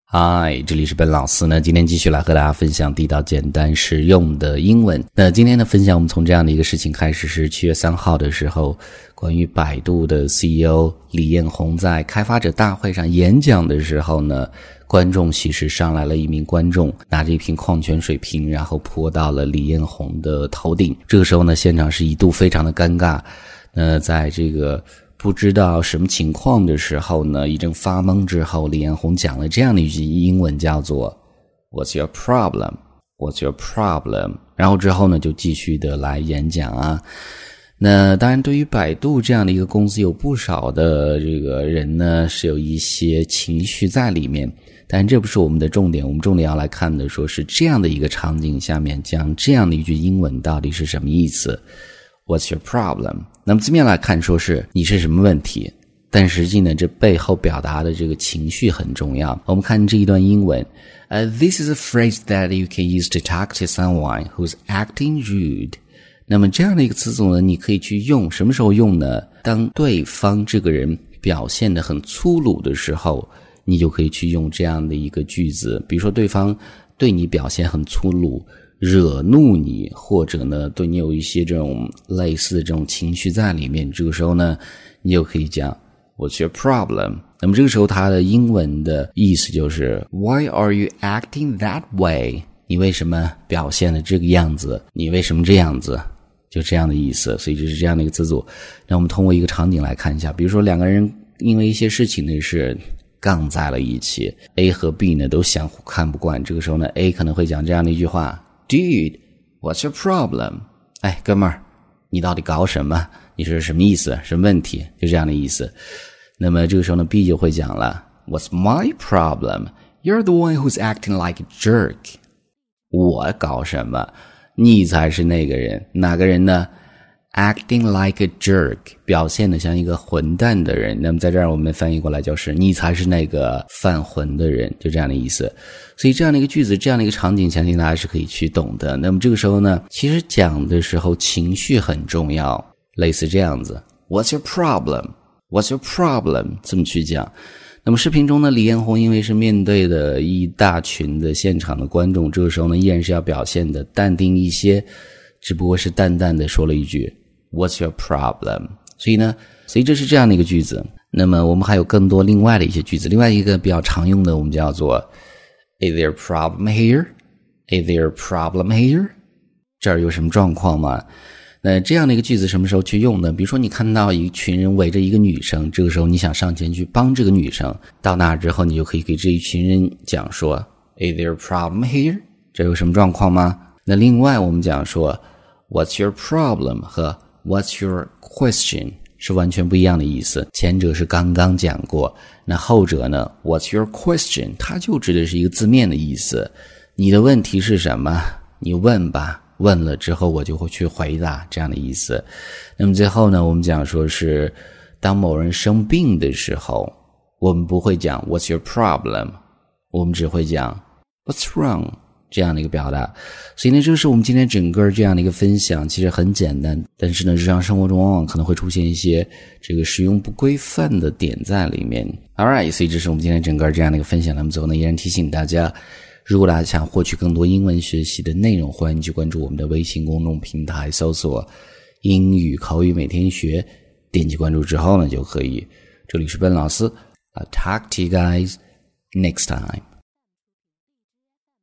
嗨，这里是本老师呢，今天继续来和大家分享地道简单实用的英文。那今天的分享我们从这样的一个事情开始，是7月3号的时候，关于百度的 CEO 李彦宏在开发者大会上演讲的时候呢，观众席是上来了一名观众，拿着一瓶矿泉水瓶，然后泼到了李彦宏的头顶。这个时候呢，现场是一度非常的尴尬。在这个不知道什么情况的时候呢，一阵发懵之后，李彦宏讲了这样的一句英文，叫做 What's your problem? What's your problem? 然后之后呢，就继续的来演讲啊。那当然对于百度这样的一个公司，有不少的这个人呢是有一些情绪在里面，但这不是我们的重点，我们重点要来看的说是这样的一个场景下面讲这样的一句英文到底是什么意思。What's your problem? 那么字面来看说是你是什么问题，但实际呢这背后表达的这个情绪很重要。我们看这一段英文，This is a phrase that you can use to talk to someone who's acting rude. 那么这样的一个词组呢，你可以去用，什么时候用呢？当对方这个人表现得很粗鲁的时候，你就可以去用这样的一个句子。比如说对方对你表现很粗鲁，惹怒你，或者呢对你有一些这种类似的这种情绪在里面，这个时候呢你就可以讲 What's your problem? 那么这个时候它的英文的意思就是 Why are you acting that way? 你为什么表现的这个样子？你为什么这样子？就这样的意思。所以这是这样的一个词组。那我们通过一个场景来看一下，比如说两个人因为一些事情呢是杠在了一起， A 和 B 呢都相互看不惯，这个时候呢 A 可能会讲这样的一句话Dude, what's your problem? 哎，哥们儿，你到底搞什么？你是什么意思？什么问题？就这样的意思。那么这个时候呢 B 就会讲了 What's my problem? You're the one who's acting like a jerk. 我搞什么？你才是那个人。哪个人呢？ Acting like a jerk, 表现得像一个混蛋的人。那么在这儿我们翻译过来就是你才是那个犯混的人，就这样的意思。所以这样的一个句子，这样的一个场景，相信大家是可以去懂的。那么这个时候呢，其实讲的时候情绪很重要，类似这样子 What's your problem? What's your problem? 这么去讲。那么视频中呢，李彦宏因为是面对的一大群的现场的观众，这个时候呢依然是要表现的淡定一些，只不过是淡淡的说了一句What's your problem? 所以这是这样的一个句子。那么我们还有更多另外的一些句子，另外一个比较常用的我们叫做 Is there a problem here? Is there a problem here? 这儿有什么状况吗？那这样的一个句子什么时候去用呢？比如说你看到一群人围着一个女生，这个时候你想上前去帮这个女生，到那之后你就可以给这一群人讲说 Is there a problem here? 这有什么状况吗？那另外我们讲说 What's your problem? 和What's your question 是完全不一样的意思，前者是刚刚讲过，那后者呢 What's your question 它就指的是一个字面的意思，你的问题是什么？你问吧，问了之后我就会去回答，这样的意思。那么最后呢，我们讲说是当某人生病的时候，我们不会讲 What's your problem? 我们只会讲 What's wrong?这样的一个表达。所以呢，这是我们今天整个这样的一个分享，其实很简单，但是呢日常生活中往往可能会出现一些这个使用不规范的点在里面。 Alright， 所以这是我们今天整个这样的一个分享。那么最后呢，依然提醒大家，如果大家想获取更多英文学习的内容，欢迎去关注我们的微信公众平台，搜索英语口语每天学，点击关注之后呢就可以。这里是Ben老师， I'll talk to you guys next time.